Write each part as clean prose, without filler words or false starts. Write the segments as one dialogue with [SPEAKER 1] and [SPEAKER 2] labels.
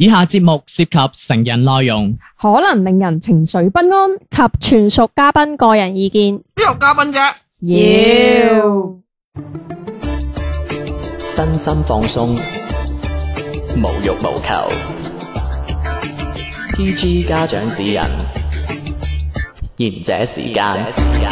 [SPEAKER 1] 以下節目涉及成人內容，
[SPEAKER 2] 可能令人情緒不安
[SPEAKER 3] 及全屬嘉賓個人意見。
[SPEAKER 4] 邊有嘉賓啫？
[SPEAKER 2] 妖
[SPEAKER 5] 身心放鬆，無欲無求。PG 家長指引，賢者時間。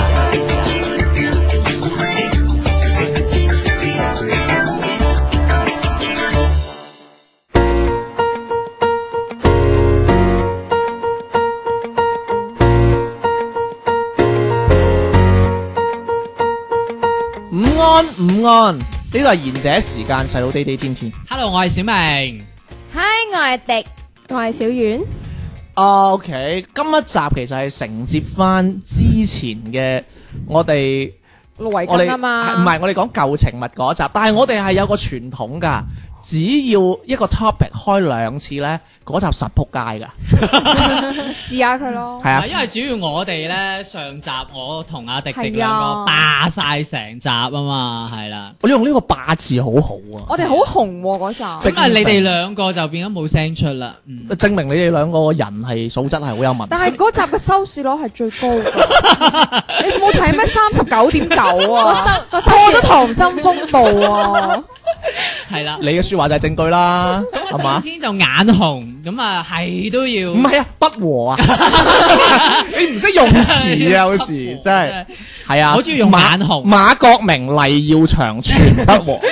[SPEAKER 4] 午安，呢度係賢者時間，細佬地地天天。
[SPEAKER 1] Hello， 我係小明。
[SPEAKER 2] 嗨，我係迪，
[SPEAKER 3] 我係小丸。
[SPEAKER 4] OK， 今一集其實係承接翻之前嘅我哋
[SPEAKER 2] 盧維根啊嘛，
[SPEAKER 4] 唔係我哋講舊情物嗰集，但係我哋係有個傳統㗎，只要一個 topic 開2次咧，嗰集實仆街㗎。
[SPEAKER 2] 試下佢咯。
[SPEAKER 4] 係啊，
[SPEAKER 1] 因為主要我哋咧上集我同阿迪迪兩個霸晒成集啊嘛，係啦。
[SPEAKER 4] 我用呢個霸字好好啊。
[SPEAKER 2] 我哋好紅嗰集，
[SPEAKER 1] 咁啊，你哋兩個就變咗冇聲出啦。
[SPEAKER 4] 證明你哋兩個人係素質係好有問題。
[SPEAKER 2] 但係嗰集嘅收視率係最高㗎。你冇睇咩39.9啊？破咗溏心風暴啊！
[SPEAKER 1] 係啦，
[SPEAKER 4] 你嘅説話就係證據啦，係嘛？
[SPEAKER 1] 天就眼紅，咁啊係都要。
[SPEAKER 4] 唔係啊，不和啊！你唔識用詞啊，有時真係係啊。
[SPEAKER 1] 我中意用眼紅。
[SPEAKER 4] 馬國明、黎耀祥全不和，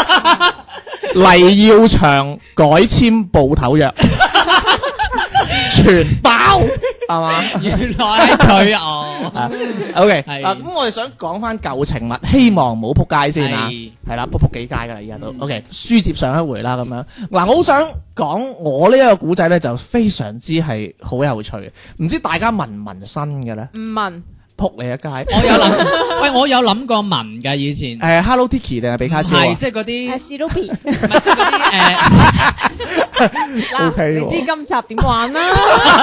[SPEAKER 4] 黎耀祥改簽部頭約，全包係嘛？
[SPEAKER 1] 原來係佢哦。
[SPEAKER 4] OK，
[SPEAKER 1] 係
[SPEAKER 4] 咁我哋想講翻舊情物，希望唔好撲街先啊。
[SPEAKER 1] 係
[SPEAKER 4] 係啦，撲幾街噶啦，而家都 OK。書接上一回啦，咁樣嗱，我好想講我呢一個古仔咧，就非常之係好有趣嘅。唔知大家紋唔紋身嘅咧？
[SPEAKER 2] 唔問，
[SPEAKER 4] 撲你一街！
[SPEAKER 1] 我有諗，喂，我有諗過紋㗎以前。
[SPEAKER 4] Hello Kitty 定係比卡超啊？
[SPEAKER 1] 係即係嗰啲，
[SPEAKER 3] 史努比，
[SPEAKER 1] 唔係即係嗰啲
[SPEAKER 4] OK
[SPEAKER 2] 你知今集點玩啦？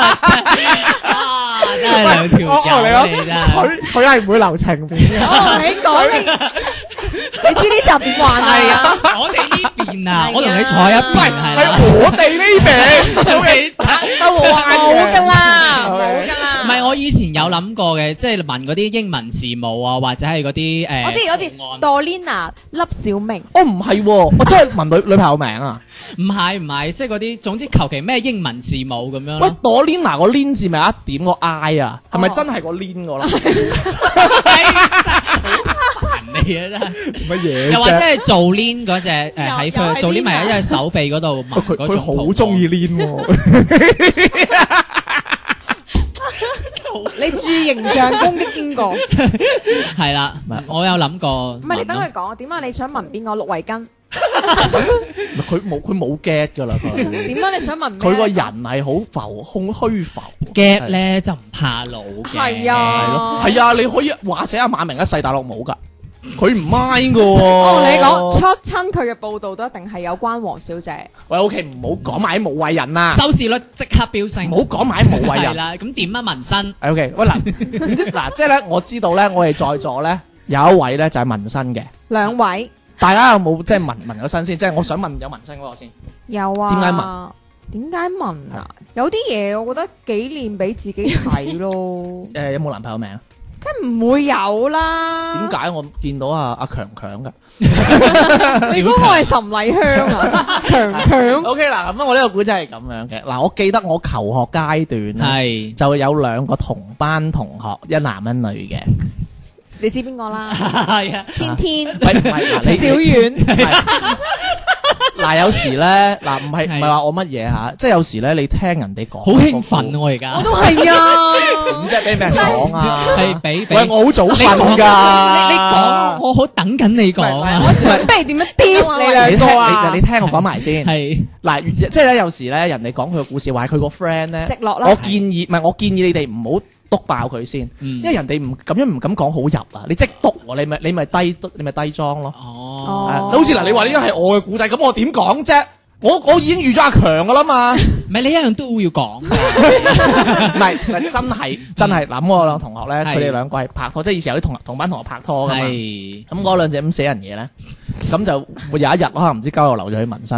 [SPEAKER 1] 啊，真係兩條友嚟真係。
[SPEAKER 4] 佢係唔會留情面嘅。
[SPEAKER 2] 哦，你講你知呢集點玩
[SPEAKER 1] 係
[SPEAKER 2] 啊？
[SPEAKER 1] 啊，我哋呢邊啊，我同你坐一邊係
[SPEAKER 4] 係
[SPEAKER 1] 啦。
[SPEAKER 4] 我哋呢邊都係兜彎
[SPEAKER 2] 冇㗎啦，
[SPEAKER 4] 嘅
[SPEAKER 2] 冇㗎啦。
[SPEAKER 1] 唔係，我以前有諗過嘅，即係問嗰啲英文字母啊，或者係嗰啲
[SPEAKER 2] 我知
[SPEAKER 1] 圖案
[SPEAKER 2] ，Dorina 粒小明，
[SPEAKER 4] 哦，唔係喎，我真係問女朋友名啊！
[SPEAKER 1] 唔係，即係嗰啲，總之求其咩英文字母咁樣
[SPEAKER 4] 喂
[SPEAKER 1] 咯。
[SPEAKER 4] ，Dorina 個 Lin 字咪有一點個 I 啊？係咪真係個 Lin 個啦？
[SPEAKER 1] 人嚟啊真係。
[SPEAKER 4] 乜嘢
[SPEAKER 1] 又或者
[SPEAKER 4] 啫？
[SPEAKER 1] 係做 Lin 嗰隻喺佢做 Lin 咪喺隻手臂嗰度紋
[SPEAKER 4] 佢
[SPEAKER 1] 嗰種
[SPEAKER 4] 佢好中意 Lin 喎。
[SPEAKER 2] 你注形象攻擊邊個？唔
[SPEAKER 1] 係啦，我有諗過。
[SPEAKER 2] 係你等佢講，點解你想問邊個？陸維根？
[SPEAKER 4] 佢冇 get 㗎啦，佢
[SPEAKER 2] 點解你想問咩？
[SPEAKER 4] 佢個人係好浮空虛浮
[SPEAKER 1] gap 咧就唔怕老嘅。
[SPEAKER 2] 係啊
[SPEAKER 4] 係咯，係啊，你可以話寫阿馬明一世大陸冇㗎，佢唔 mind 㗎喎。
[SPEAKER 2] 我同你講，出親佢嘅報道都一定係有關黃小姐。
[SPEAKER 4] 喂，OK，唔好講埋啲無謂人啦，
[SPEAKER 1] 收視率即刻飆升。
[SPEAKER 4] 唔好講埋啲無謂人。
[SPEAKER 1] 係啦，咁點啊紋身？
[SPEAKER 4] OK，喂嗱，唔知嗱，即係咧，我知道咧，我哋在座咧有一位咧就係紋身嘅，
[SPEAKER 2] 兩位
[SPEAKER 4] 大家有冇即係紋咗身先？即係我想問有紋身嗰個先。
[SPEAKER 2] 有啊？
[SPEAKER 4] 點解紋？
[SPEAKER 2] 點解紋啊？有啲嘢我覺得紀念俾自己睇咯。
[SPEAKER 4] 有冇男朋友名？
[SPEAKER 2] 梗唔會有啦。
[SPEAKER 4] 點解我見到阿強強㗎？
[SPEAKER 2] 你嗰個係岑麗香啊？強強。
[SPEAKER 4] OK 嗱，咁我呢個古仔係咁樣嘅。嗱，我記得我求學階段咧，
[SPEAKER 1] 係
[SPEAKER 4] 就有2個同班同學，一男一女嘅。
[SPEAKER 2] 你知邊個啦？
[SPEAKER 1] 係啊，
[SPEAKER 2] 天天、
[SPEAKER 4] 喂，唔係嗱，你
[SPEAKER 2] 小遠。
[SPEAKER 4] 嗱，有時咧，嗱，唔係話我乜嘢嚇，即係有時咧，你聽人哋講，
[SPEAKER 1] 好興奮啊！我而家
[SPEAKER 2] 我都係啊。
[SPEAKER 4] 點啫？俾咩人講啊？
[SPEAKER 1] 係俾
[SPEAKER 4] 喂，我好早瞓㗎。
[SPEAKER 1] 你講，我好等緊你講啊！
[SPEAKER 2] 我準備點樣 diss 你
[SPEAKER 4] 你
[SPEAKER 2] 兩
[SPEAKER 4] 聽
[SPEAKER 2] 個啊？
[SPEAKER 4] 你聽我講埋先。
[SPEAKER 1] 係
[SPEAKER 4] 嗱，即係咧，有時咧，人哋講佢個故事，話係佢個 friend 咧，
[SPEAKER 2] 直落啦
[SPEAKER 4] 我建議你哋唔好篤爆佢先，因為人哋咁樣唔敢講好入啊！你即係篤喎，你咪低裝咯。
[SPEAKER 1] 哦，
[SPEAKER 4] 好似嗱，你話呢個係我嘅故仔，咁我點講啫？我已經預咗阿強噶啦嘛。
[SPEAKER 1] 唔係你一樣都要講。
[SPEAKER 4] 唔係真係嗱，咁我兩同學咧，
[SPEAKER 1] 係
[SPEAKER 4] 佢哋兩個係拍拖，即係以前有啲同班同學拍拖噶嘛。
[SPEAKER 1] 係
[SPEAKER 4] 咁嗰兩隻咁死人嘢咧，咁就會有一日可能唔知交流留咗去紋身，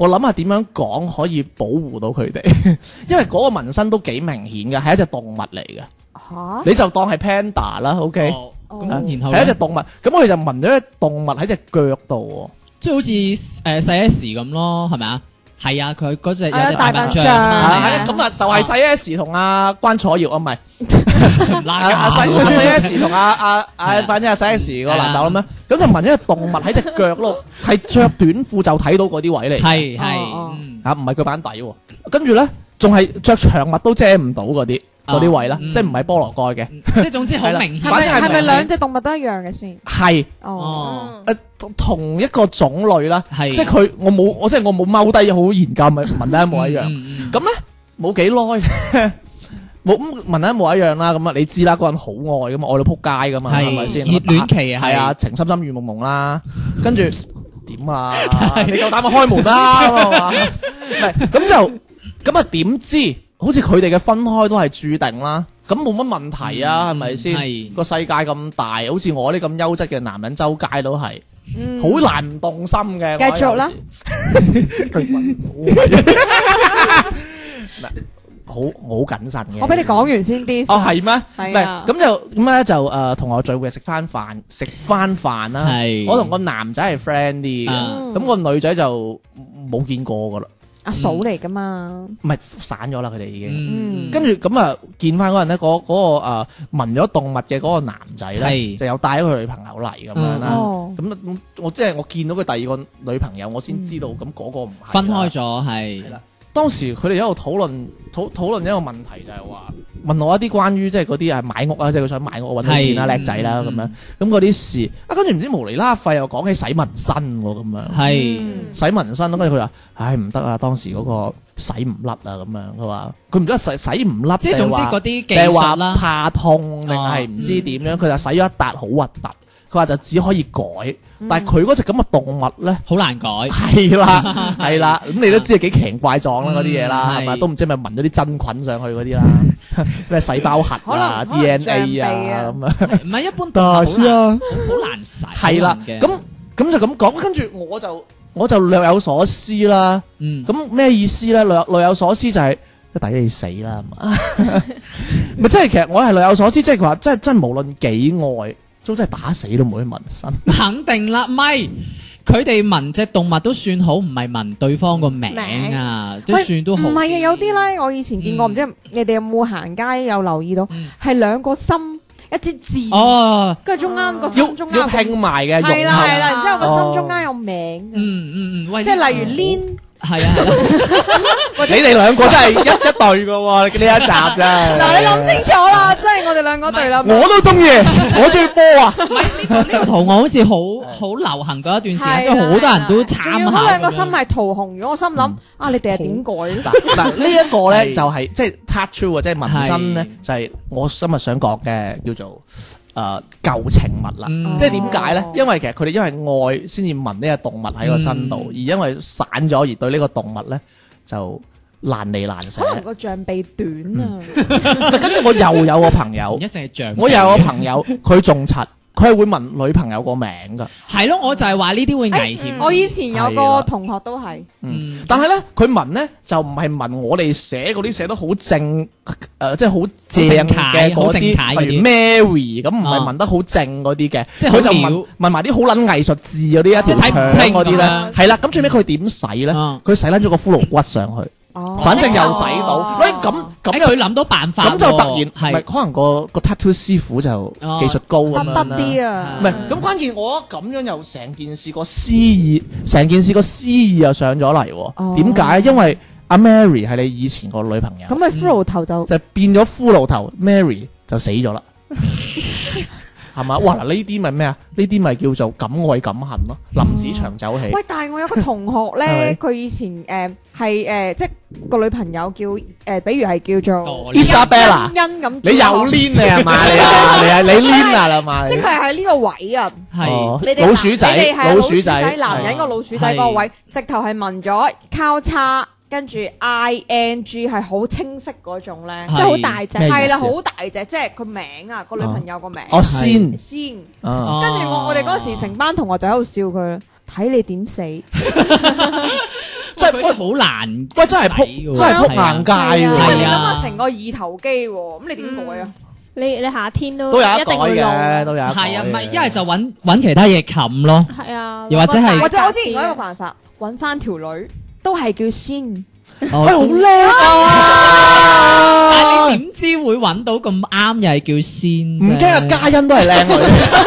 [SPEAKER 4] 我諗下點樣講可以保護到佢哋，因為嗰個紋身都幾明顯嘅，係一隻動物嚟嘅。
[SPEAKER 2] 嚇，
[SPEAKER 4] 你就當係 panda 啦，OK？
[SPEAKER 1] 咁然後
[SPEAKER 4] 係一隻動物，咁我哋就紋咗隻動物喺隻腳度
[SPEAKER 1] 即係好似細 S 咁咯，係咪啊？係啊，佢嗰隻有隻
[SPEAKER 2] 大笨象
[SPEAKER 1] 大笨象
[SPEAKER 4] 喎。
[SPEAKER 1] 啊，
[SPEAKER 4] 係咁啊，就係細 S 同阿關楚耀啊，唔係
[SPEAKER 1] 唔拉
[SPEAKER 4] 阿細 S 同
[SPEAKER 1] 啊
[SPEAKER 4] 反正阿細 S 個男友啦咩？咁就紋咗隻動物喺隻腳度，係着短褲就睇到嗰啲位嚟。
[SPEAKER 1] 係
[SPEAKER 2] 哦
[SPEAKER 1] 係，
[SPEAKER 4] 唔係腳板底喎。跟住咧，仲係着長襪都遮唔到嗰啲位啦，即係唔係菠蘿蓋嘅。
[SPEAKER 1] 即係總之好明顯。
[SPEAKER 2] 係咪兩隻動物都一樣嘅先？
[SPEAKER 4] 係
[SPEAKER 1] 哦，
[SPEAKER 4] 同一個種類啦，
[SPEAKER 1] 係
[SPEAKER 4] 即係佢我冇踎低好研究咪紋得一模一樣。咁咧冇幾耐，冇咁紋得一模一樣啦。咁啊，你知啦，嗰人好愛噶嘛，愛到撲街噶嘛，係咪先？
[SPEAKER 1] 熱戀期啊，
[SPEAKER 4] 係啊，情深深雨濛濛啦，跟住點啊？你夠膽咪開門啦，係嘛？唔係咁啊？點知好似佢哋嘅分開都係注定啦？咁冇乜問題啊，係咪先？個世界咁大，好似我啲咁優質嘅男人，周街都係，好難唔動心嘅。
[SPEAKER 2] 繼續啦，
[SPEAKER 4] 我好謹慎嘅。
[SPEAKER 2] 我俾你講完先啲。
[SPEAKER 4] 哦，係咩？
[SPEAKER 2] 係啊。
[SPEAKER 4] 咁咧就同學聚會食翻飯啦。
[SPEAKER 1] 係。
[SPEAKER 4] 我同個男仔係 friend 啲嘅，咁個女仔就冇見過噶啦。
[SPEAKER 2] 阿嫂嚟噶嘛？
[SPEAKER 4] 唔係散咗啦，佢哋已經。
[SPEAKER 1] 嗯。
[SPEAKER 4] 跟住咁啊，見翻嗰陣咧，嗰個紋咗動物嘅嗰個男仔咧，就有帶咗佢女朋友嚟咁樣啦。咁我即係我見到佢第二個女朋友，我先知道咁嗰個唔係
[SPEAKER 1] 分開咗係。
[SPEAKER 4] 當時佢哋喺度討論一個問題，就係話問我一啲關於即係嗰啲係買屋啊，即係佢想買屋揾到錢啦，叻仔啦咁樣，咁嗰啲事啊，跟住唔知無厘啦廢又講起洗紋身喎咁樣，
[SPEAKER 1] 係
[SPEAKER 4] 洗紋身，跟住佢話唉唔得啊，當時嗰個洗唔甩啊咁樣，佢話佢唔知洗唔甩，
[SPEAKER 1] 即係總之嗰啲技
[SPEAKER 4] 術
[SPEAKER 1] 術啦，
[SPEAKER 4] 怕痛定係唔知點樣，佢就洗咗一笪好核突。佢話就只可以改，但係佢嗰隻咁嘅動物咧，
[SPEAKER 1] 好難改。
[SPEAKER 4] 係啦，係啦，咁你都知係幾奇形怪狀啦嗰啲嘢啦，係咪？都唔知係咪紋咗啲真菌上去嗰啲啦，咩細胞核啊、DNA 啊咁啊，
[SPEAKER 1] 唔係一般動物好難洗。
[SPEAKER 4] 係啦，咁就咁講，跟住我就略有所思啦。咁咩意思咧？略有所思就係抵你死啦，係嘛？咪即係其實我係略有所思，即係佢話真無論幾愛。都真係打死都唔會紋身，
[SPEAKER 1] 肯定啦，咪佢哋紋隻動物都算好，唔係紋對方個名啊，都算都好。
[SPEAKER 2] 唔係啊，有啲咧，我以前見過，唔知你哋有冇行街有留意到，係兩個心一支字，跟住中間個心中間
[SPEAKER 4] 要拼埋嘅，
[SPEAKER 2] 係啦，然之後個心中間有名，即係例如 Lin。
[SPEAKER 1] 係啊，
[SPEAKER 4] 你哋兩個真係一對噶喎，呢一集啫。
[SPEAKER 2] 嗱，你諗清楚啦，即係我哋兩個對啦。
[SPEAKER 4] 我都中意，我中意波啊。
[SPEAKER 1] 唔係呢個圖案好似好流行嗰一段時間，即係好多人都參考。
[SPEAKER 2] 嗰兩個心係塗紅咗，我心諗啊，你哋係點改咧？
[SPEAKER 4] 嗱，呢一個咧就係即係 tattoo 啊，即係紋身咧，就係我今日想講嘅叫做。舊情物啦，即係點解咧？因為其實佢哋因為愛先至紋呢隻動物喺個身度，而因為散咗而對呢個動物咧就難離難捨。
[SPEAKER 2] 可能個象鼻短啊。
[SPEAKER 4] 跟住我又有個朋友，
[SPEAKER 1] 一隻象，
[SPEAKER 4] 我又有個朋友，佢仲柒。佢係會紋女朋友個名噶，
[SPEAKER 1] 係咯，我就係話呢啲會危險。
[SPEAKER 2] 我以前有個同學都係，
[SPEAKER 4] 但係咧佢紋咧就唔係紋我哋寫嗰啲寫得好正，即係好正嘅嗰啲，例如 Mary 咁，唔係紋得好正嗰啲嘅，即係佢就紋埋啲好撚藝術字嗰啲一條長嗰啲咧，係啦。咁最尾佢點洗咧？佢洗撚咗個骷髏骨上去。反正又洗到，喂咁
[SPEAKER 1] 佢諗到辦法，
[SPEAKER 4] 咁就突然係可能個 tattoo 師傅就技術高咁樣
[SPEAKER 2] 得啲啊，
[SPEAKER 4] 唔係咁關鍵，我咁樣又成件事個詩意，成件事個詩意又上咗嚟，點解？因為阿 Mary 係你以前個女朋友，
[SPEAKER 2] 咁咪骷髏頭就
[SPEAKER 4] 變咗骷髏頭 ，Mary 就死咗啦。係嘛？哇！嗱，呢啲咪咩啊？呢啲咪叫做敢愛敢恨咯。林子祥走起。
[SPEAKER 2] 喂，但係我有個同學咧，佢以前係即係個女朋友叫比如係叫做
[SPEAKER 4] Isabella
[SPEAKER 2] 欣咁。
[SPEAKER 4] 你又攣你係嘛？你攣啊啦嘛？
[SPEAKER 2] 即係喺呢個位啊。
[SPEAKER 1] 係。
[SPEAKER 2] 你哋
[SPEAKER 4] 老鼠仔，老鼠仔，
[SPEAKER 2] 男人個老鼠仔嗰個位，直頭係紋咗交叉。跟住 ING 係好清晰嗰種咧，
[SPEAKER 3] 即係好大隻，
[SPEAKER 2] 係啦，好大隻，即係個名啊，個女朋友個名。
[SPEAKER 4] 先，
[SPEAKER 2] 跟住我哋嗰時成班同學就喺度笑佢，睇你點死。
[SPEAKER 4] 真係
[SPEAKER 1] 佢好難，
[SPEAKER 4] 喂真係撲硬街喎。
[SPEAKER 2] 你諗
[SPEAKER 1] 係啊
[SPEAKER 2] 下成個二頭肌喎，咁你點改啊？
[SPEAKER 3] 你夏天都
[SPEAKER 4] 都有得改
[SPEAKER 3] 一定會露
[SPEAKER 4] 嘅，都有得改
[SPEAKER 1] 係啊，唔係
[SPEAKER 4] 嘅
[SPEAKER 1] 一係就揾其他嘢冚咯，
[SPEAKER 3] 係啊，
[SPEAKER 1] 又或者係
[SPEAKER 2] 或者我之前講一個辦法，揾翻條女都係叫仙。
[SPEAKER 4] 喂，好叻
[SPEAKER 1] 但
[SPEAKER 4] 啊！
[SPEAKER 1] 係你點知會揾到咁啱又係叫仙啫？
[SPEAKER 4] 唔驚啊，嘉欣都係靚女，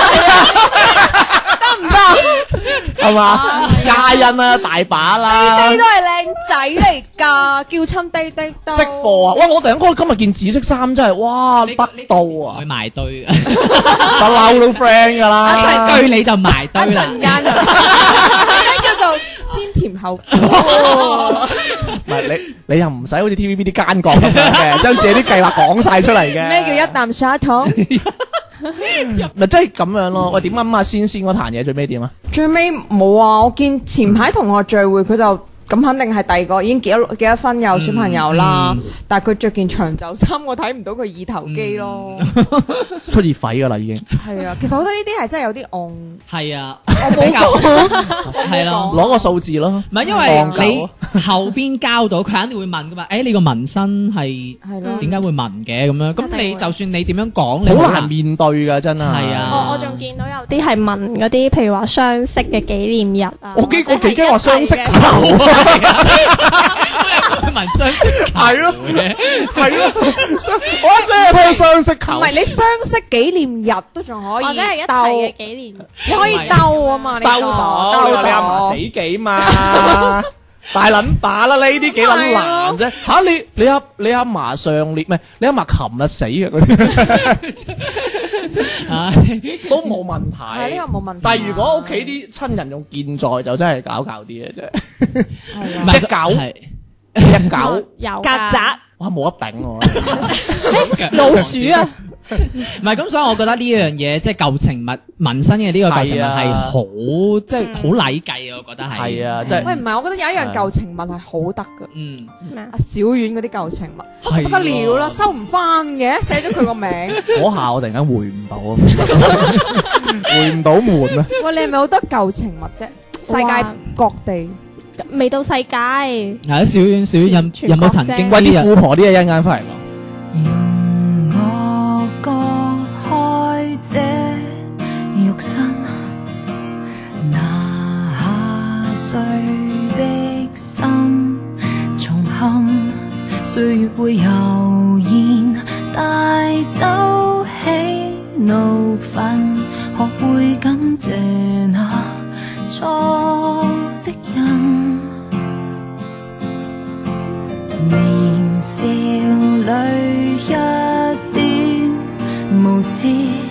[SPEAKER 2] 得唔得？
[SPEAKER 4] 係嘛？嘉欣啊，大把啦
[SPEAKER 2] 呢啲。都係靚仔嚟㗎，叫親滴滴都
[SPEAKER 4] 識貨啊！哇，我突然間今日件紫色衫真係哇得到啊
[SPEAKER 1] 會！埋堆，
[SPEAKER 4] 不嬲都 friend 㗎啦。
[SPEAKER 1] 一堆你就埋堆啦。
[SPEAKER 2] 陣間就叫做先甜後苦。
[SPEAKER 4] 唔係你又唔使好似 TVB 啲奸角咁樣嘅，將自己啲計劃講晒出嚟嘅。
[SPEAKER 2] 咩叫一啖砂糖？
[SPEAKER 4] 咪即係咁樣咯？喂，點咁啊？仙嗰壇嘢最尾點啊？
[SPEAKER 2] 最尾冇啊！我見前排同學聚會，佢就咁肯定係第二個已經結咗婚有小朋友啦。但係佢着件長袖衫，我睇唔到佢二頭肌咯。
[SPEAKER 4] 出熱痱㗎啦已經。
[SPEAKER 2] 係啊，其實我覺得呢啲係真係有啲戇。
[SPEAKER 1] 係啊，
[SPEAKER 2] 我冇講，
[SPEAKER 1] 係咯。
[SPEAKER 4] 攞個數字咯。
[SPEAKER 1] 唔係因為你後邊交到，佢肯定會問噶嘛。誒，你個紋身係
[SPEAKER 2] 咯
[SPEAKER 1] 點解會紋嘅咁樣？咁你就算你點樣講，你
[SPEAKER 4] 好難面對㗎真係。
[SPEAKER 1] 係啊
[SPEAKER 3] 我仲見到有啲係紋嗰啲，譬如話雙色嘅紀念日啊。
[SPEAKER 4] 我幾驚話雙色球。
[SPEAKER 1] 紋雙色球
[SPEAKER 4] 係咯，係咯，我一真係睇到雙色球。
[SPEAKER 2] 唔係你雙色紀念日都仲可以
[SPEAKER 3] 或者係一齊嘅
[SPEAKER 2] 鬥，
[SPEAKER 3] 紀念日。
[SPEAKER 2] 你可以鬥啊嘛，你
[SPEAKER 4] 兜到，你阿嫲死幾嘛？大撚把啦，呢啲幾撚難啫？嚇你阿嫲上年唔係你阿嫲琴日死嘅嗰啲，都冇問題。
[SPEAKER 2] 係呢個冇問題。
[SPEAKER 4] 但係如果屋企啲親人用健在，就真係搞啲嘅啫。
[SPEAKER 1] 唔係
[SPEAKER 4] 隻狗，
[SPEAKER 3] 有
[SPEAKER 2] 曱甴，
[SPEAKER 4] 哇冇得頂喎！
[SPEAKER 2] 老鼠啊！
[SPEAKER 1] 唔係咁，所以我覺得呢樣嘢即係舊情物紋身嘅呢個舊情物係好即係好禮計啊！我覺得係
[SPEAKER 4] 係啊，即係
[SPEAKER 2] 喂，唔係，我覺得有一樣舊情物係好得噶。
[SPEAKER 1] 嗯
[SPEAKER 3] 咩啊
[SPEAKER 2] 阿小丸嗰啲舊情物
[SPEAKER 1] 係
[SPEAKER 2] 不得了啦，收唔翻嘅，寫咗佢個名。
[SPEAKER 4] 嗰下我突然間回唔到啊，回唔到門啊！
[SPEAKER 2] 喂，你係咪好多舊情物啫？世界各地。
[SPEAKER 3] 未到世界。
[SPEAKER 1] 係啊，小丸有冇曾經
[SPEAKER 4] 喂，啲
[SPEAKER 1] 啲
[SPEAKER 4] 富婆啲嘢一陣間翻嚟講。
[SPEAKER 6] 容我割開這肉身，拿下碎的心，重憾歲月會悠然帶走喜怒憤，學會感謝那錯的人。年少裏一點無知，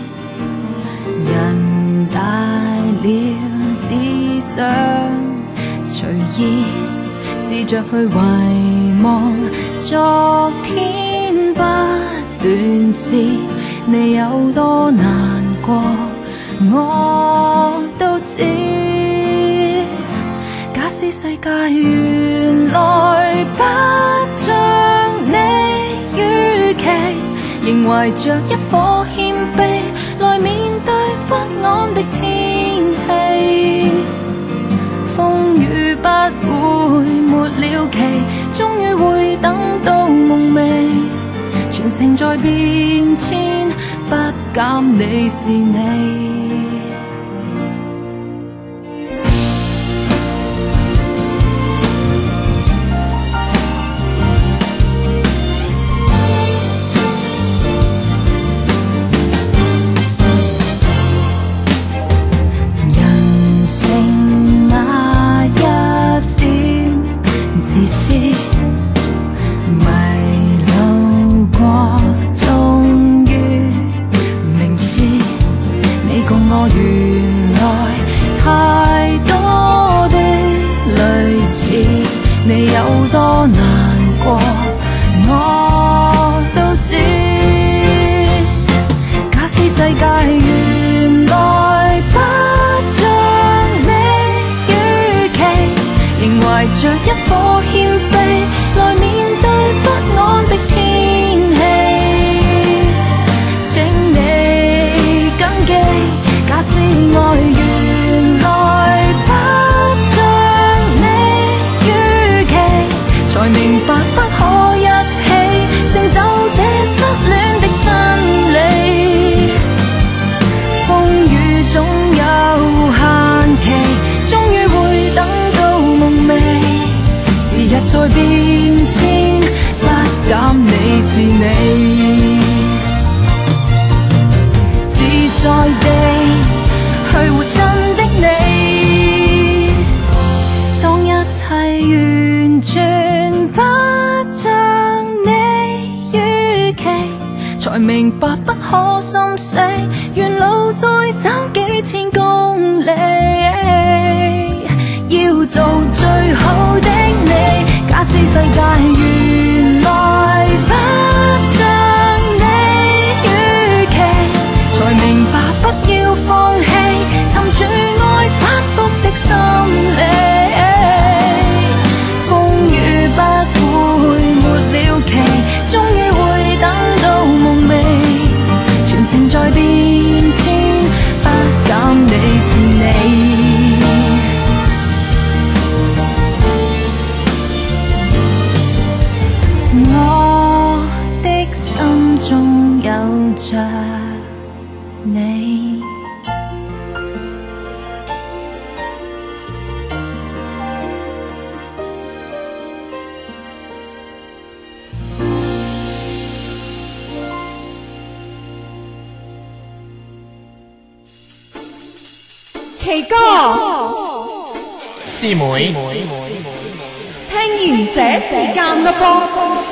[SPEAKER 6] 人大了只想隨意試着去遺忘昨天不斷是你有多難過，我都知。假使世界原來不像你預期，仍懷着一顆謙卑來面對不安的天氣，風雨不會沒了期，終於會等到夢寐，全城在變遷，不減你是你。你有多難過，我都知。假使世界原來不像你預期，仍懷着一顆謙卑來面對不安的天氣，請你謹記，假使愛原來不像你預明白不可一起成就這失戀的真理。風雨總有限期，終於會等到夢寐。時日在變遷，不減你是你，自在地去活真的你。當一切完全不像你預期，才明白不可心死，沿路再走幾千公里，要做最好的你。假使世界原來不像你預期，才明白不要放棄，尋住愛反覆的心理。風雨不會沒了期，終於會等到夢寐。全城在變遷，不減你是你。我的心中有着你。
[SPEAKER 2] 奇哥，
[SPEAKER 5] 姊妹，
[SPEAKER 2] 聽賢者時間啦噃。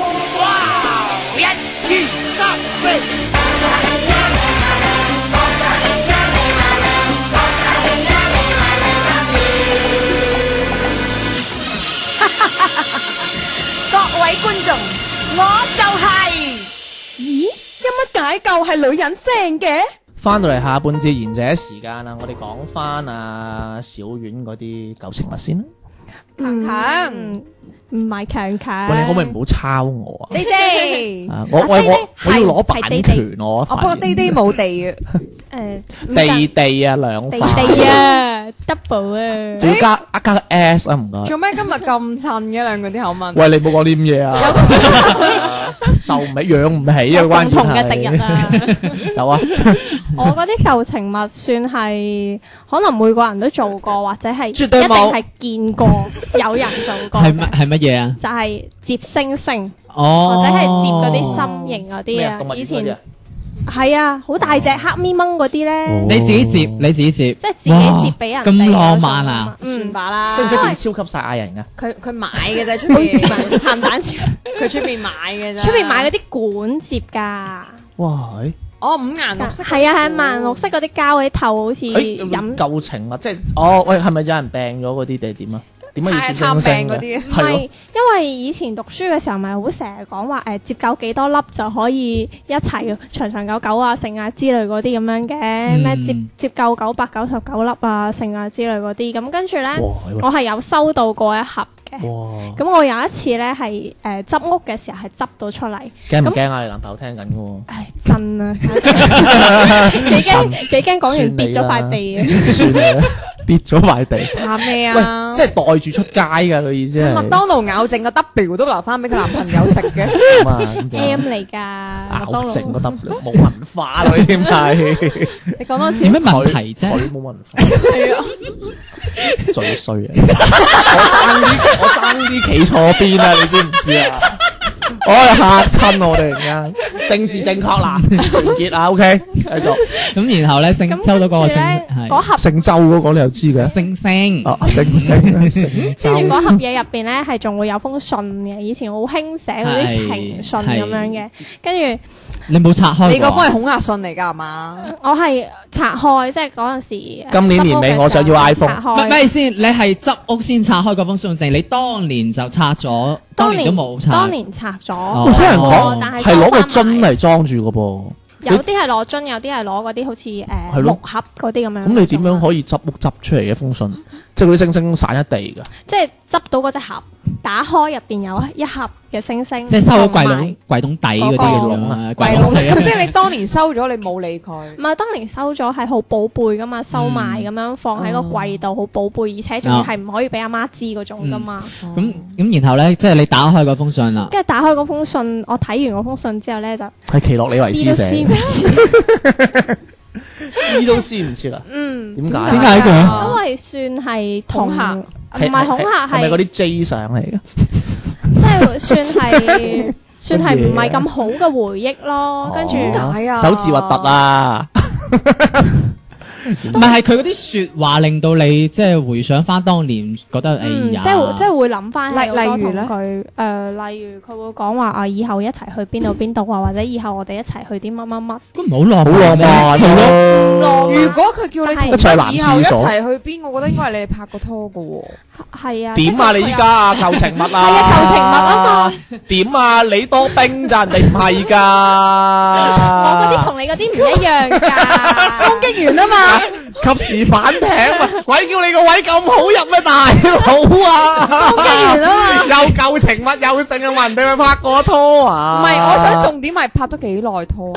[SPEAKER 6] 各位觀眾，我就係。
[SPEAKER 2] 咦，音乜解救係女人聲嘅？
[SPEAKER 4] 翻到嚟下半節賢者時間啦，我哋講翻啊小丸嗰啲舊情物先啦。
[SPEAKER 2] 強強，
[SPEAKER 3] 唔係強強。
[SPEAKER 4] 喂，你可唔可以唔好抄我啊？
[SPEAKER 2] 你哋，
[SPEAKER 4] 我要攞版權我。
[SPEAKER 2] 不過弟弟冇地嘅，
[SPEAKER 4] 地地啊兩
[SPEAKER 3] 地
[SPEAKER 4] 塊，
[SPEAKER 3] 地啊 double 啊，
[SPEAKER 4] 仲要加個 S 啊唔該。
[SPEAKER 2] 做咩今日咁襯嘅兩個啲口吻？
[SPEAKER 4] 喂，你冇講啲咁嘢啊！受唔起，養唔起啊！關鍵係
[SPEAKER 3] 共同嘅敵人啊！
[SPEAKER 4] 走啊！
[SPEAKER 3] 我嗰啲舊情物算係可能每個人都做過，或者係一定
[SPEAKER 2] 絕對冇
[SPEAKER 3] 係見過有人做過
[SPEAKER 1] 係
[SPEAKER 3] 嘅，
[SPEAKER 1] 乜嘢啊？
[SPEAKER 3] 就係接星星，
[SPEAKER 1] 哦，
[SPEAKER 3] 或者係接嗰啲心形嗰啲啊。以前係啊，好大隻黑咪掹嗰啲咧，
[SPEAKER 1] 你自己接，你自己接，
[SPEAKER 3] 即係自己接俾人哋
[SPEAKER 1] 咁浪漫啊！
[SPEAKER 2] 算吧啦。
[SPEAKER 4] 識唔識變超級賽亞人噶？
[SPEAKER 2] 佢買嘅啫，出邊
[SPEAKER 3] 鹹蛋超，
[SPEAKER 2] 佢出邊買嘅啫。
[SPEAKER 3] 出邊買嗰啲管接㗎。
[SPEAKER 4] 哇！
[SPEAKER 2] 哦，五顏六色。
[SPEAKER 3] 係啊，係萬綠色嗰啲膠嗰啲頭，好似
[SPEAKER 4] 誒
[SPEAKER 3] 飲
[SPEAKER 4] 舊情物，即係哦喂，係咪有人病咗嗰啲定係點啊？點解要接星星嘅？
[SPEAKER 2] 嗰啲。
[SPEAKER 3] 唔係，因為以前讀書嘅時候咪好成日講話接夠幾多粒就可以一齊長長久久啊、剩啊之類嗰啲咁樣嘅，咩接夠999粒啊、剩啊之類嗰啲，咁跟住咧，我係有收到過一盒嘅。咁我有一次咧係執屋嘅時候係執到出嚟，
[SPEAKER 4] 驚唔驚啊？你男朋友聽緊嘅喎。
[SPEAKER 3] 唉，真啊，幾驚講完跌咗塊地啊！
[SPEAKER 4] 算啦，跌咗塊地。
[SPEAKER 2] 怕咩
[SPEAKER 4] 喂，
[SPEAKER 2] 啊？
[SPEAKER 4] 即係袋住出街㗎，佢意思係。
[SPEAKER 2] 麥當勞咬剩個 W 都留翻俾佢男朋友食嘅。
[SPEAKER 4] 咁啊咁樣
[SPEAKER 3] M 嚟㗎，麥當
[SPEAKER 4] 咬剩個
[SPEAKER 3] 勞
[SPEAKER 4] W 冇文化咯，呢啲係。
[SPEAKER 2] 你講多次。
[SPEAKER 1] 有咩問題啫？
[SPEAKER 4] 佢冇文化，
[SPEAKER 2] 係啊。
[SPEAKER 4] 最衰啊！我爭啲企錯邊啊！你知唔知啊？我係嚇親我哋而家政治正確啦，完結啊 ，OK，繼續。
[SPEAKER 1] 咁然後咧，收到嗰個星
[SPEAKER 3] 嗰盒
[SPEAKER 4] 姓周嗰個你又知嘅？
[SPEAKER 1] 星星，
[SPEAKER 4] 星星，姓周。
[SPEAKER 3] 跟住嗰盒嘢入邊咧係仲會有封信嘅，以前好興寫嗰啲情信咁樣嘅，跟住
[SPEAKER 1] 你冇拆開。
[SPEAKER 2] 你嗰封係恐嚇信嚟㗎係嘛？
[SPEAKER 3] 我係拆開，即係嗰陣時。
[SPEAKER 4] 今年年尾我想要 iPhone。
[SPEAKER 1] 咩先？你係執屋先拆開嗰封信，定你當年就拆咗？當年都冇拆。
[SPEAKER 3] 當年拆咗。
[SPEAKER 4] 我聽人講係攞個樽嚟裝住嘅噃。
[SPEAKER 3] 有啲係攞樽，有啲係攞嗰啲好似木盒嗰啲咁樣。
[SPEAKER 4] 咁你點樣可以執屋執出嚟嘅封信？ 即係嗰啲星星散一地㗎。
[SPEAKER 3] 即係執到嗰隻盒，打開入邊有一盒嘅星星，
[SPEAKER 1] 即係收咗櫃
[SPEAKER 3] 同埋
[SPEAKER 1] 籠櫃桶底嗰啲窿啊，
[SPEAKER 2] 櫃籠咁即係你當年收咗，你冇理佢。
[SPEAKER 3] 唔係當年收咗係好寶貝噶嘛，收埋咁樣放喺個櫃度，好寶貝，而且仲要係唔可以俾阿媽知嗰種噶嘛。
[SPEAKER 1] 咁然後咧，即係你打開嗰封信啦。
[SPEAKER 3] 跟住打開嗰封信，我睇完嗰封信之後咧就
[SPEAKER 4] 係奇洛李維斯寫，撕都撕唔切啦。點解？
[SPEAKER 1] 點解佢？
[SPEAKER 3] 因為算係
[SPEAKER 2] 恐嚇，
[SPEAKER 3] 唔係恐嚇，
[SPEAKER 4] 係咪嗰啲 J 相嚟嘅？
[SPEAKER 3] 即係算係唔係咁好嘅回憶咯。跟住
[SPEAKER 2] 點解啊？
[SPEAKER 4] 手字核突啊！
[SPEAKER 1] 唔係佢嗰啲説話令到你即係回想翻當年，覺得哎呀，
[SPEAKER 3] 即係會諗翻
[SPEAKER 2] 例如咧
[SPEAKER 3] 佢例如佢會講話啊，以後一齊去邊度啊，或者以後我哋一齊去啲乜乜乜。
[SPEAKER 1] 咁唔係好浪
[SPEAKER 4] 好浪漫咯。
[SPEAKER 2] 如果佢叫你同
[SPEAKER 4] 一齊男
[SPEAKER 2] 以後一
[SPEAKER 4] 廁所
[SPEAKER 2] 齊去邊，我覺得應該係你哋拍過拖嘅喎。
[SPEAKER 3] 係啊。
[SPEAKER 4] 點啊？你依家啊舊情物啊？
[SPEAKER 3] 係啊，舊情物啊嘛。
[SPEAKER 4] 點啊？你多兵咋？人哋唔係㗎。
[SPEAKER 3] 我嗰啲同你嗰啲唔一樣㗎。
[SPEAKER 2] 攻擊完啊嘛。
[SPEAKER 4] 及時反艇啊！鬼叫你個位咁好入咩，大佬啊！
[SPEAKER 2] 攻擊完啊嘛。
[SPEAKER 4] 又舊情物又剩啊！人哋咪拍過拖啊！
[SPEAKER 2] 唔係，我想重點係拍咗幾耐拖。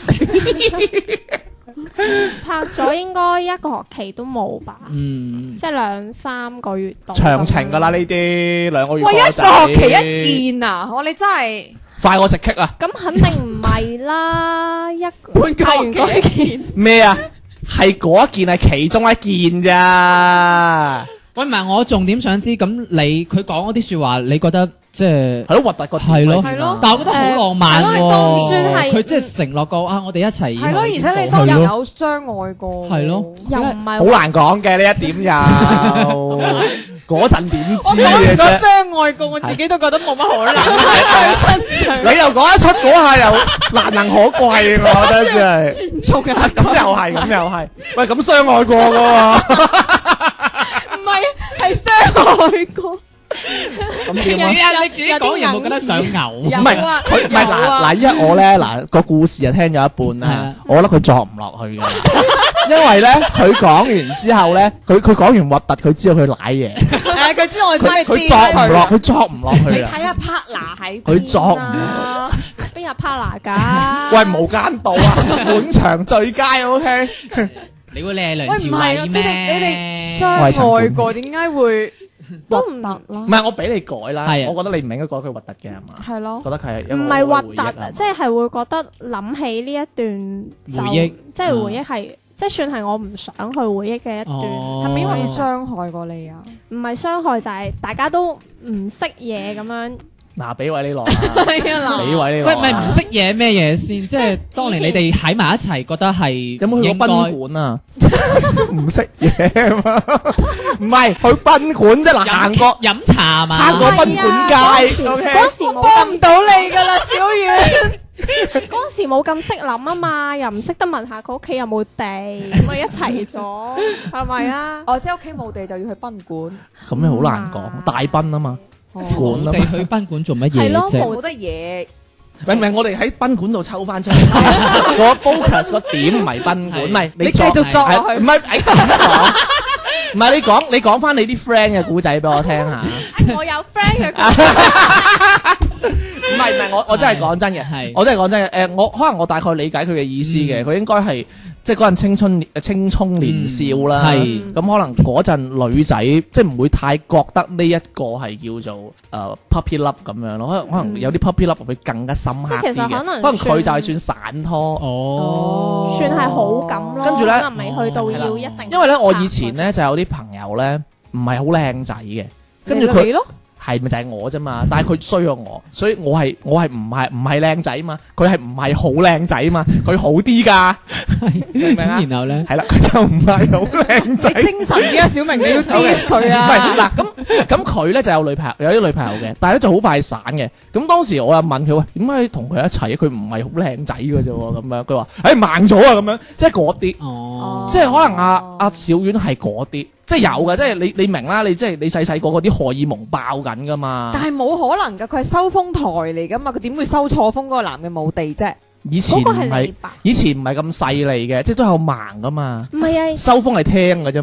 [SPEAKER 3] 拍咗應該一個學期都冇吧，
[SPEAKER 1] 嗯，
[SPEAKER 3] 即係2-3個月度。
[SPEAKER 4] 長情㗎啦呢啲2個月。
[SPEAKER 2] 喂，一個學期一見啊！我哋真係
[SPEAKER 4] 快我食棘啊！
[SPEAKER 3] 咁肯定唔係啦，
[SPEAKER 2] 半個學期一見
[SPEAKER 4] 咩啊？係嗰一件係其中一件咋？
[SPEAKER 1] 喂，唔係我重點想知，咁你佢講嗰啲説話，你覺得即係
[SPEAKER 4] 係咯，核突個
[SPEAKER 1] 係咯，
[SPEAKER 2] 係咯
[SPEAKER 1] 但係我覺得好浪漫
[SPEAKER 2] 係咯你當
[SPEAKER 1] 喎，
[SPEAKER 3] 算係
[SPEAKER 1] 佢即係承諾過啊，我哋一齊
[SPEAKER 2] 係咯，而且你當日有相愛過。
[SPEAKER 1] 係咯，
[SPEAKER 3] 又唔係
[SPEAKER 4] 好難講嘅呢一點又嗰陣點知
[SPEAKER 2] 我講
[SPEAKER 4] 嘅
[SPEAKER 2] 完個
[SPEAKER 4] 啫？
[SPEAKER 2] 相愛過，我自己都覺得冇乜可能。
[SPEAKER 4] 你又講得出嗰下又難能可貴，我覺得真係。
[SPEAKER 2] 做嘅
[SPEAKER 4] 咁又係，咁又係。喂，咁相愛過㗎喎。
[SPEAKER 2] 唔係係相愛過。
[SPEAKER 4] 咁點啊？
[SPEAKER 1] 你自己講完有冇覺得想嘔？
[SPEAKER 4] 唔係佢，唔係嗱，依家我咧嗱個故事就聽咗一半啦，我覺得佢作唔落去嘅，因為咧佢講完之後咧，佢講完核突，佢知道佢舐嘢，
[SPEAKER 2] 誒，佢知我中意
[SPEAKER 4] 佢作唔落，佢作唔落去啊！
[SPEAKER 2] 你睇下 partner 喺
[SPEAKER 4] 佢作唔
[SPEAKER 2] 落。
[SPEAKER 3] 邊有 partner 㗎？
[SPEAKER 4] 喂，無間道啊，本場最佳 OK。
[SPEAKER 1] 你會你係梁
[SPEAKER 2] 喂，
[SPEAKER 1] 朝
[SPEAKER 2] 唔係
[SPEAKER 1] 偉
[SPEAKER 2] 你哋
[SPEAKER 1] 咩？
[SPEAKER 2] 相愛過，點解會
[SPEAKER 3] 都唔
[SPEAKER 2] 核突
[SPEAKER 4] 唔係我俾你改啦，
[SPEAKER 1] 係啊
[SPEAKER 4] 我覺得你唔應該改佢核突嘅係嘛？
[SPEAKER 2] 係咯
[SPEAKER 4] 覺得佢係一個
[SPEAKER 3] 唔係核突
[SPEAKER 4] 回憶啊
[SPEAKER 3] 啊，即係會覺得諗起呢一段就
[SPEAKER 1] 回憶
[SPEAKER 3] 即係回憶係，即係算係我唔想去回憶嘅一段。
[SPEAKER 1] 哦
[SPEAKER 2] 係咪因為佢傷害過你啊？
[SPEAKER 3] 唔係傷害，就係大家都唔識嘢咁樣。
[SPEAKER 4] 嗱，俾位你落啊，
[SPEAKER 2] 係啊
[SPEAKER 4] 俾位你落
[SPEAKER 1] 喂，
[SPEAKER 4] 啊。
[SPEAKER 1] 唔係唔識嘢咩嘢先？即係當年你哋喺埋一齊，覺得係
[SPEAKER 4] 有冇去過賓館啊？唔識嘢啊嘛，唔係去賓館啫。嗱，行過
[SPEAKER 1] 飲茶嘛？
[SPEAKER 4] 行過賓館街，OK。
[SPEAKER 3] 嗰時冇
[SPEAKER 2] 幫唔到你㗎啦，小遠。
[SPEAKER 3] 嗰時冇咁識諗啊嘛，又唔識得問下佢屋企有冇地，咁咪一齊咗，係咪啊？
[SPEAKER 2] 哦，即係屋企冇地就要去賓館。
[SPEAKER 4] 咁你好難講，大賓啊嘛，館啊嘛。
[SPEAKER 1] 我哋去賓館做乜
[SPEAKER 3] 係咯
[SPEAKER 1] 嘢啫？
[SPEAKER 2] 冇得嘢。
[SPEAKER 4] 明唔明？我哋喺賓館度抽翻出嚟，個 focus 個點唔係賓館，唔係
[SPEAKER 2] 你繼續作落去。
[SPEAKER 4] 唔係誒咁講，唔係你講翻你啲 friend 嘅故仔俾我聽下。
[SPEAKER 3] 我有 friend 嘅，
[SPEAKER 4] 唔係，我真係講真嘅，
[SPEAKER 1] 係
[SPEAKER 4] 我真係講真嘅。我可能我大概理解佢嘅意思嘅，佢應該係即係嗰陣青葱年少啦。
[SPEAKER 1] 係
[SPEAKER 4] 咁可能嗰陣女仔即係唔會太覺得呢一個係叫做puppy love 咁樣咯。可能有啲 puppy love 會更加深刻啲
[SPEAKER 3] 即係其實
[SPEAKER 4] 嘅。
[SPEAKER 3] 可能
[SPEAKER 4] 可能佢就係算散拖。
[SPEAKER 1] 哦，
[SPEAKER 3] 算係好感咯。
[SPEAKER 4] 跟住呢
[SPEAKER 3] 可能未去到要一定。
[SPEAKER 4] 因為咧，我以前咧就有啲朋友咧唔係好靚仔嘅，跟住佢
[SPEAKER 2] 你咯。
[SPEAKER 4] 係咪就係我啫嘛？但係佢衰過我，所以我係唔係靚仔嘛？佢係唔係好靚仔嘛？佢好啲㗎，明唔明啊？
[SPEAKER 1] 然後咧，
[SPEAKER 4] 係啦，佢就唔係好靚仔。
[SPEAKER 2] 你精神啲啊，小明，你要 diss 佢
[SPEAKER 4] 唔係
[SPEAKER 2] 啊！
[SPEAKER 4] 嗱，咁佢咧就有女朋友，有啲女朋友嘅，但係咧就好快散嘅。咁當時我又問佢喂，點解同佢一齊？佢唔係好靚仔嘅啫喎，咁樣佢話盲咗啊咁樣，即係嗰啲，
[SPEAKER 1] 哦，
[SPEAKER 4] 即係可能阿小丸係嗰啲。即係有嘅，即係你明啦，你即係你細細個嗰啲荷爾蒙爆緊噶嘛。
[SPEAKER 2] 但係冇可能㗎，佢係收風台嚟㗎嘛，佢點會收錯風？嗰個男嘅冇地啫。
[SPEAKER 4] 以前唔
[SPEAKER 3] 嗰個係
[SPEAKER 4] 係
[SPEAKER 3] 你吧，
[SPEAKER 4] 以前唔係咁細膩嘅，即係都有盲噶嘛。
[SPEAKER 3] 唔係啊，
[SPEAKER 4] 收風係聽嘅啫嘛。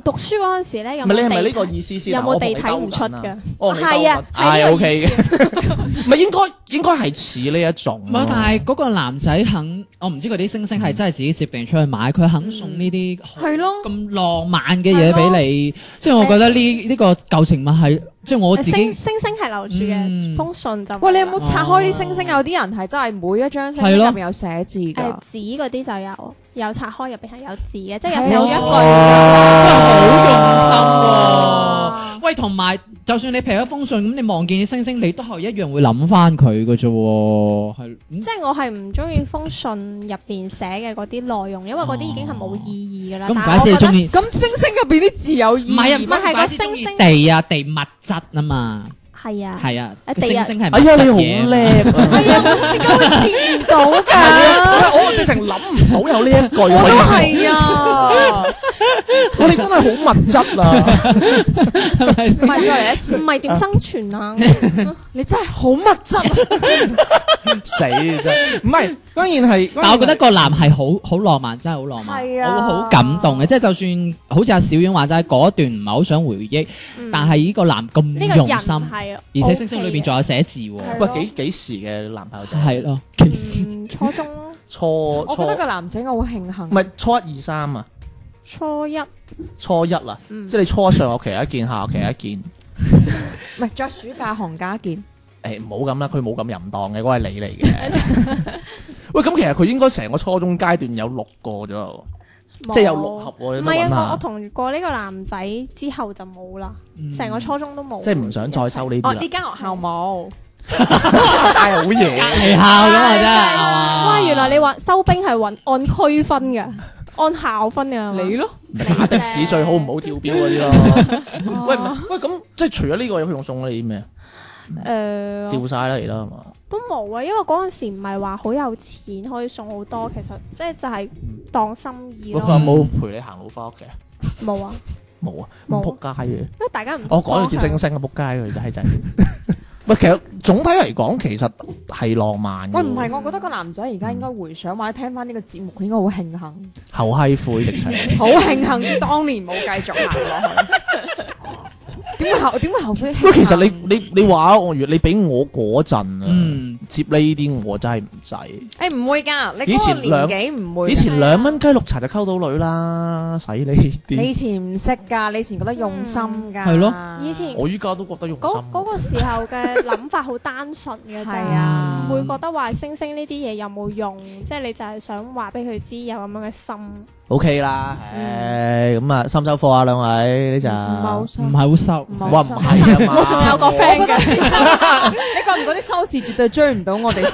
[SPEAKER 3] 讀書嗰陣時咧，有
[SPEAKER 4] 唔係你係咪
[SPEAKER 3] 冇
[SPEAKER 4] 呢個意思先？
[SPEAKER 3] 有冇地睇唔出㗎？
[SPEAKER 4] 哦，
[SPEAKER 3] 係啊，
[SPEAKER 4] 係 OK 嘅，唔係應該係似呢一種。
[SPEAKER 1] 唔係，但係嗰個男仔肯，我唔知嗰啲星星係真係自己接定出去買，佢肯送呢啲
[SPEAKER 2] 係咯
[SPEAKER 1] 咁浪漫嘅嘢俾你，即係我覺得呢個舊情物係，即係我自己
[SPEAKER 3] 星星係留住嘅，封信就
[SPEAKER 2] 喂，你有冇拆開啲星星？有啲人係真係每一張星星入面有寫字㗎。
[SPEAKER 3] 紙嗰啲就有拆開，入邊係有字嘅，即係有寫一句。
[SPEAKER 1] 好用心喎！喂，同埋就算你劈咗封信，咁你望見啲星星，你都係一樣會諗翻佢嘅啫喎，係。
[SPEAKER 3] 即係我係唔中意封信入邊寫嘅嗰啲內容，因為嗰啲已經係冇意義㗎啦。
[SPEAKER 1] 咁唔怪之你中意。
[SPEAKER 2] 咁星星入邊啲字有意義。
[SPEAKER 1] 唔係啊，
[SPEAKER 3] 唔係個星星
[SPEAKER 1] 地啊，地物質啊嘛。
[SPEAKER 3] 係啊，
[SPEAKER 1] 係啊，
[SPEAKER 3] 地啊
[SPEAKER 1] 星星係
[SPEAKER 4] 哎呀，你好叻啊！
[SPEAKER 2] 係啊，點解會接唔到㗎？
[SPEAKER 4] 我直情諗唔到有呢一句。
[SPEAKER 2] 我都係啊！
[SPEAKER 4] 我哋真係好物質啊！
[SPEAKER 1] 係咪先？
[SPEAKER 2] 唔係再嚟一次，
[SPEAKER 3] 唔係點生存啊？
[SPEAKER 2] 你真係好物質啊！
[SPEAKER 4] 死真唔係，當然係。
[SPEAKER 1] 但我覺得個男係好浪漫，真係好浪漫，
[SPEAKER 2] 係啊
[SPEAKER 1] 我會好感動嘅。即係就算好似阿小婉話齋嗰段唔係好想回憶，但係呢個男咁
[SPEAKER 3] 呢個人
[SPEAKER 1] 用心，
[SPEAKER 3] 係，
[SPEAKER 1] 而且星星裏邊仲有寫字喎。
[SPEAKER 4] 喂，幾時嘅男朋友仔？
[SPEAKER 1] 係咯，其實
[SPEAKER 3] 初中咯，
[SPEAKER 4] 初
[SPEAKER 2] 我覺得個男仔我好慶幸
[SPEAKER 4] 唔。係初一二三啊，
[SPEAKER 3] 初一
[SPEAKER 4] 初一啦，即係你初上學期一件，下學期一件。
[SPEAKER 2] 唔係再暑假寒假一件。
[SPEAKER 4] 誒唔好咁啦，佢冇咁淫蕩嘅，嗰係你嚟嘅。喂，咁其實佢應該成個初中階段有6個咗喎，即係有6盒喎。
[SPEAKER 3] 唔係啊，我同過呢個男仔之後就冇啦，成個初中都冇。
[SPEAKER 4] 即係唔想再收呢啲
[SPEAKER 2] 哦，
[SPEAKER 4] 啦。
[SPEAKER 2] 呢間學校冇。
[SPEAKER 4] 係好嘢，
[SPEAKER 1] 離校咁啊真係。
[SPEAKER 3] 哇！原來你話收兵係按區分嘅，按校分嘅。
[SPEAKER 2] 你咯，
[SPEAKER 4] 打的士最好唔好跳表嗰啲咯。喂唔係，喂咁即係除咗呢個，有冇送你啲咩？掉晒啦而家係嘛？
[SPEAKER 3] 都冇啊，因為嗰陣時唔係話好有錢可以送好多，其實即係就係當心意
[SPEAKER 4] 佢有
[SPEAKER 3] 咯。
[SPEAKER 4] 冇陪你行路翻屋企啊？
[SPEAKER 3] 冇啊，
[SPEAKER 4] 冇啊，
[SPEAKER 3] 冇
[SPEAKER 4] 咁仆街嘅。
[SPEAKER 3] 因為大家唔
[SPEAKER 4] 我講到接星星嘅仆街佢就係仔。喂，其實總體嚟講，其實係浪漫嘅。
[SPEAKER 2] 喂，唔係，我覺得個男仔而家應該回想或者聽翻呢個節目，佢應該好慶幸，
[SPEAKER 4] 後閪灰直情。
[SPEAKER 2] 好慶幸當年冇繼續行落去。點會後悔？
[SPEAKER 4] 喂，其實你話我，如果你俾我嗰陣啊，接呢啲我真係唔制。
[SPEAKER 2] 誒唔會㗎，你嗰個年紀唔會。
[SPEAKER 4] 以前2蚊雞綠茶就溝到女啦，使呢啲。
[SPEAKER 2] 你以前唔識㗎，你以前覺得用心㗎。
[SPEAKER 1] 係咯，
[SPEAKER 3] 以前
[SPEAKER 4] 我依家都覺得用心。
[SPEAKER 3] 嗰個時候嘅諗法好單純嘅啫，
[SPEAKER 2] 係啊
[SPEAKER 3] 唔會覺得話星星呢啲嘢有冇用，即係你就係想話俾佢知有咁樣嘅心。
[SPEAKER 4] O K 啦，咁啊，收唔收貨啊？兩位呢就
[SPEAKER 1] 唔係好收，
[SPEAKER 4] 哇唔係啊嘛，
[SPEAKER 3] 我仲有個 friend
[SPEAKER 2] 我覺得你覺唔覺啲收視絕對追唔到我哋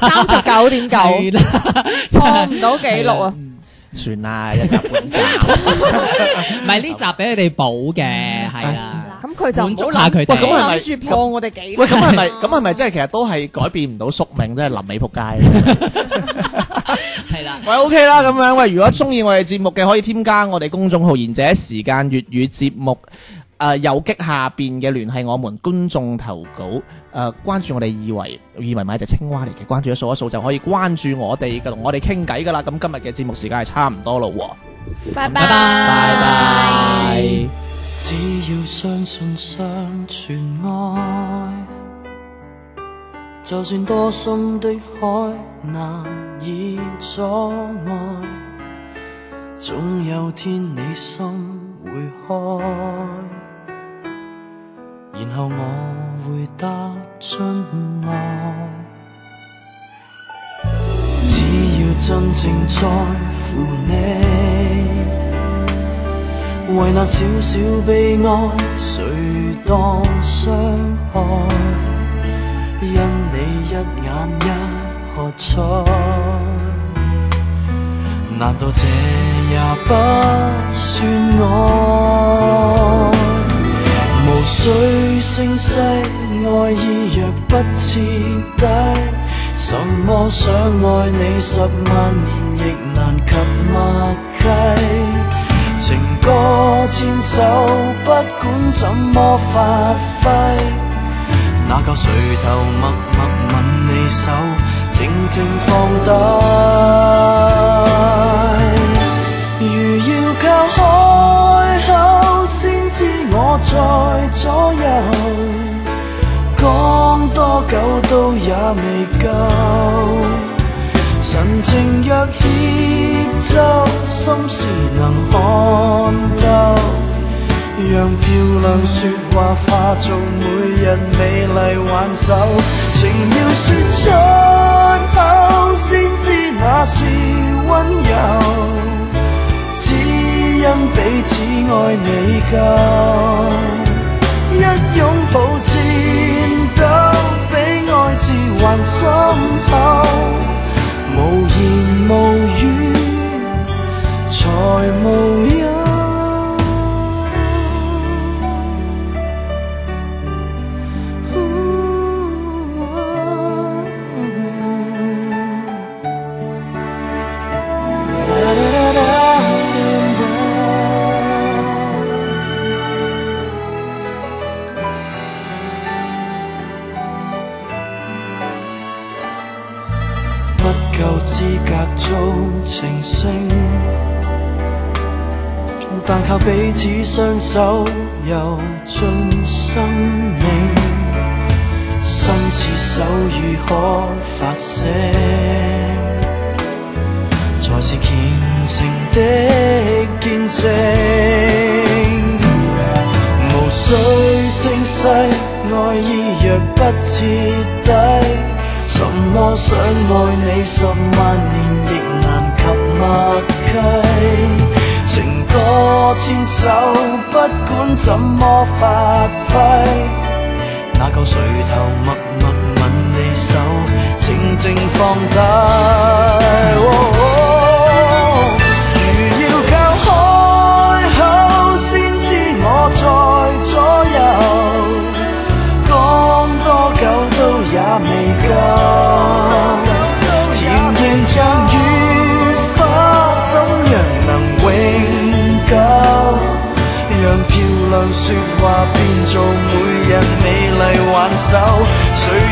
[SPEAKER 2] 39.9，破唔到紀錄啊！
[SPEAKER 4] 算啦，一集半集，
[SPEAKER 1] 唔係呢集俾佢哋補嘅，係啊。
[SPEAKER 2] 咁佢就唔
[SPEAKER 1] 滿足
[SPEAKER 2] 好諗，
[SPEAKER 1] 下佢哋。
[SPEAKER 4] 咁係咪
[SPEAKER 2] 諗住破我哋紀錄？
[SPEAKER 4] 喂，咁係咪即係其實都係改變唔到宿命，即係臨尾仆街。
[SPEAKER 1] 係啦。
[SPEAKER 4] 喂 OK 啦，咁樣喂，如果中意我哋節目嘅，可以添加我哋公眾號賢者時間粵語節目。右擊下邊嘅聯繫我們觀眾投稿，關注我哋二維碼隻青蛙嚟嘅，關注掃一掃就可以關注我哋嘅，同我哋傾偈噶啦。咁今日嘅節目時間係差唔多咯喎，
[SPEAKER 3] 拜
[SPEAKER 1] 拜拜
[SPEAKER 4] 拜拜。
[SPEAKER 7] 只要相信相存愛，就算多深的海難以阻礙，總有天你心會開，然後我會踏進來。只要真正在乎你，為那小小悲哀誰當傷害，因你一眼一喝彩，難道這也不算愛？無需聲勢，愛意若不徹底，什麼想愛你10萬年亦難及默契。情歌千首，不管怎麼發揮，那夠垂頭默默吻你手，靜靜放低。如要靠開口先左右，講多久都也未夠。神情若協奏，心事能看透，讓漂亮說話化做每日美麗挽手。情要說出口，先知那是溫柔，只因彼此愛未夠。一擁抱顫抖，比愛字還深厚，無言無語才無憂。夠資格做情聖，但靠彼此雙手游進生命，心似手語可發聲，才是虔誠的見證。無需聲勢，愛意若不徹底，怎麼想愛你10萬年亦難及默契，情歌千首，不管怎麼發揮，那個垂頭默默吻你手，靜靜放低。如要靠開口，先知我在左右，講多久都也未夠，甜言像雨花，怎樣能永久？讓漂亮說話變做每日美麗挽手，誰